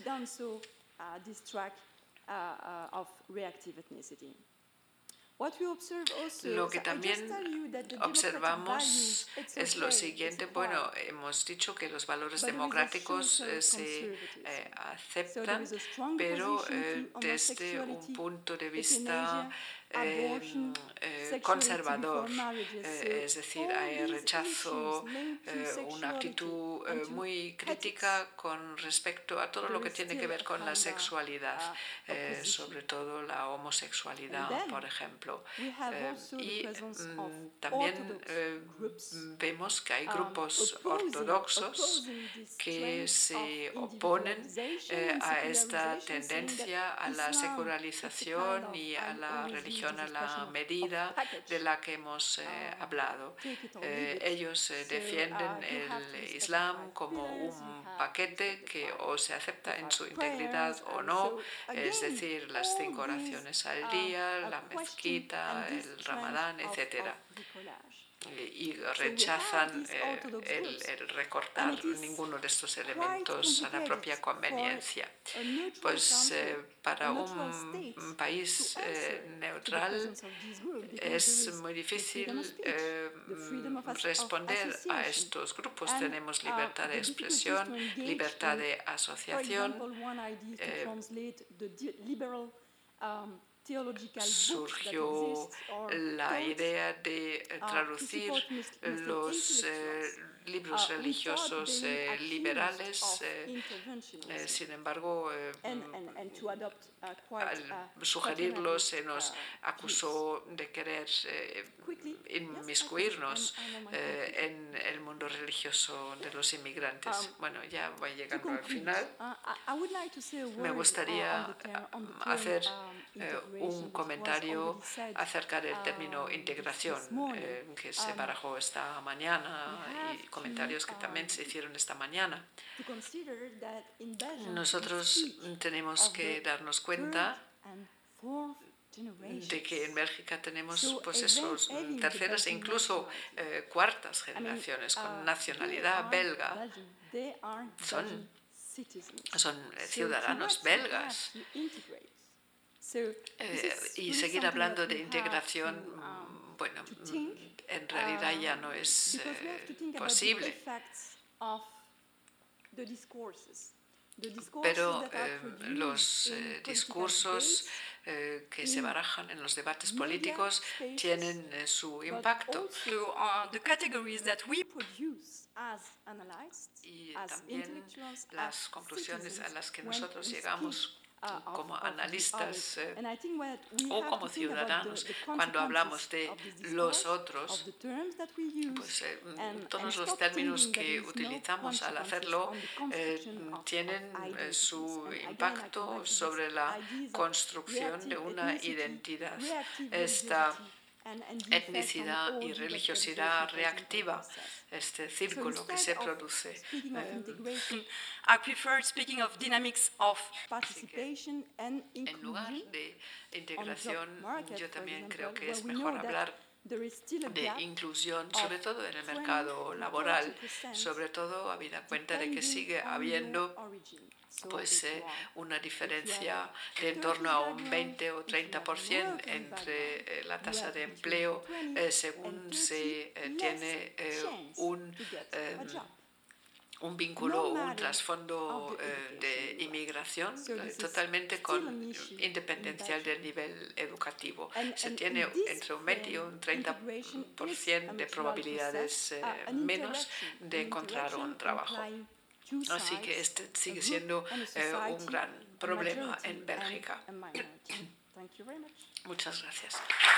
Lo que también observamos es lo siguiente. Bueno, hemos dicho que los valores democráticos se aceptan, pero desde un punto de vista conservador, es decir, hay rechazo, una actitud muy crítica con respecto a todo lo que tiene que ver con la sexualidad, sobre todo la homosexualidad, por ejemplo. Y también vemos que hay grupos ortodoxos que se oponen a esta tendencia a la secularización y a la religión a la medida de la que hemos hablado. Ellos defienden el Islam como un paquete que o se acepta en su integridad o no, es decir, las 5 oraciones al día, la mezquita, el Ramadán, etc. Y rechazan el recortar ninguno de estos elementos a la propia conveniencia. Pues para un país neutral es muy difícil responder a estos grupos. Tenemos libertad de expresión, libertad de asociación. Surgió la idea de traducir los libros religiosos liberales. Sin embargo, al sugerirlos se nos acusó de querer inmiscuirnos en religioso de los inmigrantes. Bueno, ya voy llegando al final. Me gustaría hacer un comentario acerca del término integración que se barajó esta mañana y comentarios que también se hicieron esta mañana. Nosotros tenemos que darnos cuenta de que en Bélgica tenemos pues esos terceras e incluso cuartas generaciones con nacionalidad belga. Son ciudadanos belgas. Y seguir hablando de integración, bueno, en realidad ya no es posible. Pero los discursos que se barajan en los debates políticos tienen su impacto. Y también las conclusiones a las que nosotros llegamos como analistas o como ciudadanos cuando hablamos de los otros, pues todos los términos que utilizamos al hacerlo tienen su impacto sobre la construcción de una identidad. Esta etnicidad y religiosidad reactiva, este círculo que se produce. I prefer speaking of dynamics of participation and inclusion. En lugar de integración, yo también creo que es mejor hablar de inclusión, sobre todo en el mercado laboral, sobre todo habida cuenta de que sigue habiendo pues una diferencia de en torno a un 20 o 30% entre la tasa de empleo según se tiene un vínculo o un trasfondo de inmigración totalmente independencial del nivel educativo. Se tiene entre un 20 y un 30% de probabilidades menos de encontrar un trabajo. Así que este sigue siendo un gran problema en Bélgica. Muchas gracias.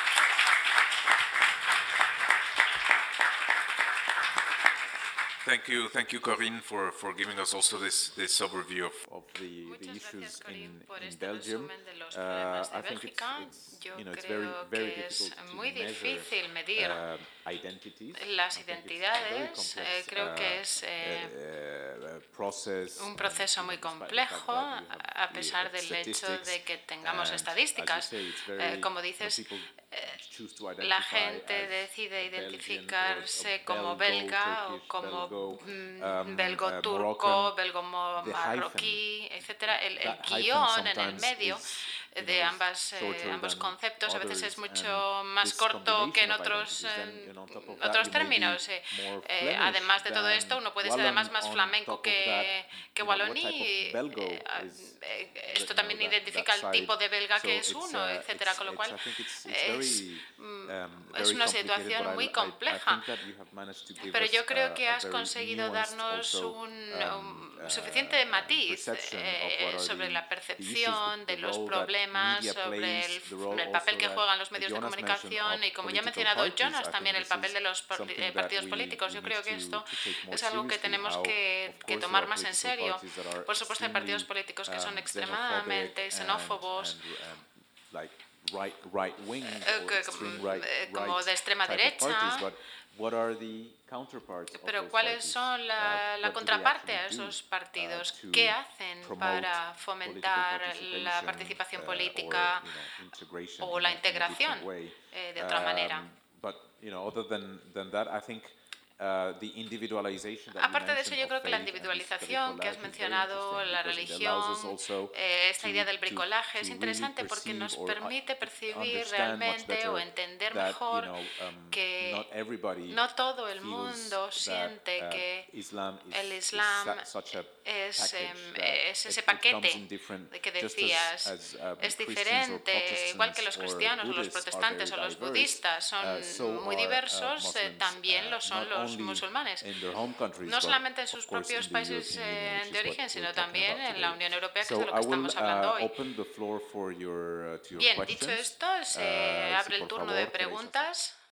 Thank you, Corinne, for giving us also this overview of the issues in Belgium. I think it's very difficult muy difícil medir las identidades. Creo que es un proceso muy complejo, a pesar del hecho de que tengamos estadísticas. Como dices, la gente decide identificarse como belga o como belgo-turco, belgo-marroquí, etc. El guión en el medio de ambos conceptos a veces es mucho más corto que en otros términos. Además de todo esto, uno puede ser además más flamenco que waloní. Esto también identifica el tipo de belga que es uno, etc. Con lo cual es una situación muy compleja. Pero yo creo que has conseguido darnos un suficiente matiz sobre la percepción de los problemas, sobre el papel que juegan los medios de comunicación y, como ya ha mencionado Jonas, también el papel de los partidos políticos. Yo creo que esto es algo que tenemos que tomar más en serio. Por supuesto, hay partidos políticos que son extremadamente xenófobos, como de extrema derecha. Pero ¿cuáles son la contraparte a esos partidos? ¿Qué hacen para fomentar la participación política o la integración de otra manera? Aparte de eso, yo creo que la individualización que has mencionado, la religión, esta idea del bricolaje es interesante porque nos permite percibir realmente o entender mejor que no todo el mundo siente que el Islam es ese paquete de que decías. Es diferente, igual que los cristianos o los protestantes o los budistas son muy diversos, también lo son los musulmanes, no solamente en sus propios países de origen, sino también en la Unión Europea, que es de lo que estamos hablando hoy. Bien, dicho esto, se abre el turno de preguntas.